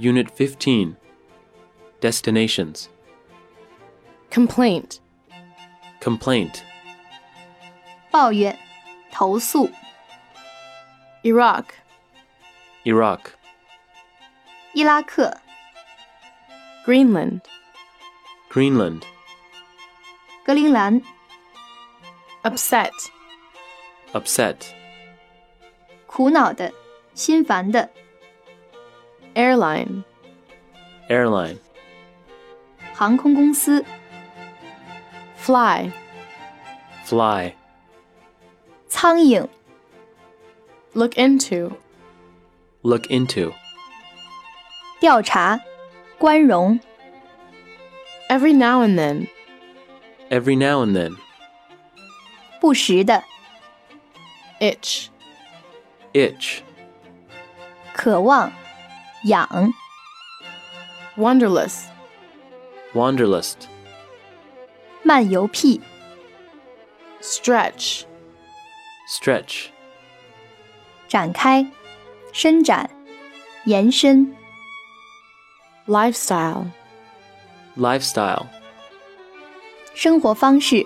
Unit 15. Destinations. Complaint. Complaint. 抱怨、投诉、 Iraq. Iraq. 伊拉克、 Greenland. Greenland. 格陵兰、 Upset. Upset. 苦恼的、心烦的、 Airline. Airline. 航空公司、 Fly. Fly. 苍蝇、 Look into. Look into. 调查、关容、 Every now and then. Every now and then. 不时的、 Itch. Itch. 渴望、痒、 Wanderlust. Wanderlust. 漫游癖、 Stretch. Stretch. 展开、伸展、延伸、 Lifestyle. Lifestyle. 生活方式、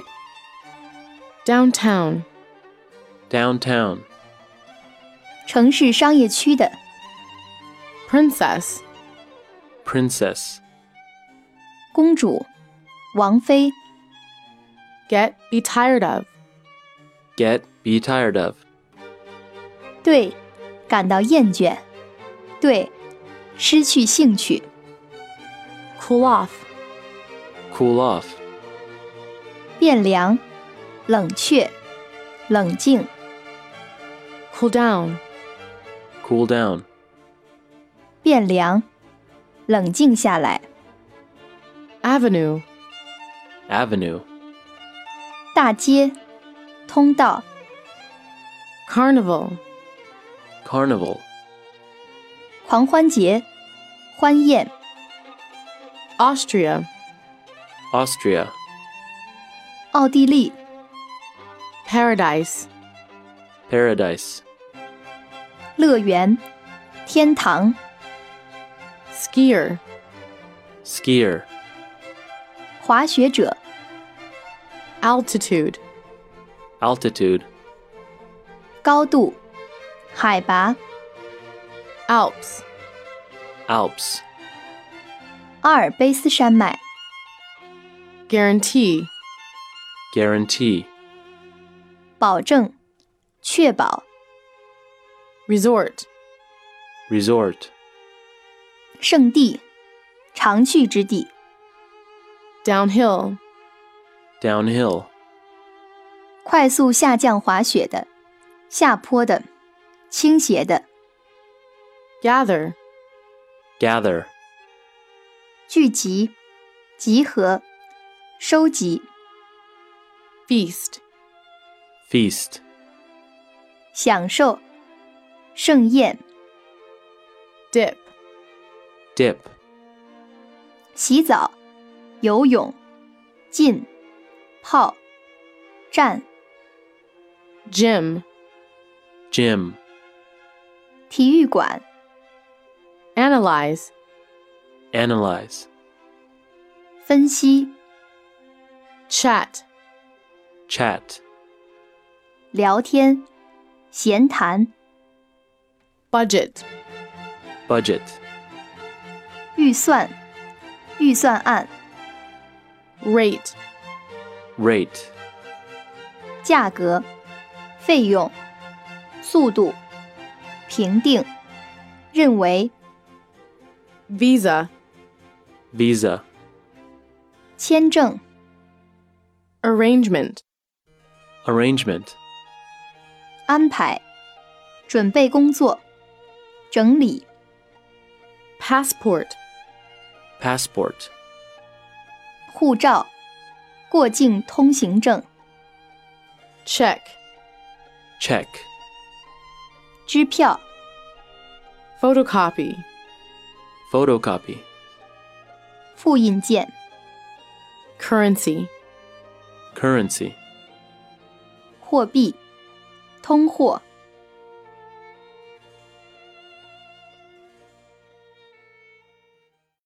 Downtown. Downtown. 城市商业区的、 Princess. Princess. 公主、王妃、 Get. Be tired of. Get. Be tired of. 对感到厌倦，对失去兴趣、 Cool off. Cool off. 变凉、冷却、冷静、 Cool down. Cool down. 变凉、冷静下来、 Avenue. Avenue. 大街、通道、 Carnival. Carnival. 狂欢节、欢宴、 Austria. Austria. 奥地利、 Paradise. Paradise. 乐园、天堂、 Skier. Skier. 滑雪者、 Altitude. Altitude. 高度、海拔、 Alps. Alps. 阿尔卑斯山脉、 Guarantee. Guarantee. 保证、确保、 Resort. Resort. 圣地、常去之地、 Downhill. Downhill. 快速下降滑雪的、下坡的、倾斜的、 Gather. Gather. 聚集、集合、收集、 Feast. Feast. 享受、盛宴、 Dip. Dip. 洗澡、游泳、浸、泡、站、 Gym. Gym. 体育馆、 Analyze. Analyze. 分析、 Chat. Chat. 聊天、闲谈、 Budget. Budget. 预算、预算案、 Rate. Rate. 价格、费用、速度、评定、认为、 Visa. Visa. 签证、 Arrangement. Arrangement. 安排、准备工作、整理、 Passport. Passport. 护照、过境通行证、 Check. Check. 支票、 Photocopy. Photocopy. 复印件、 Currency. Currency. 货币、通货、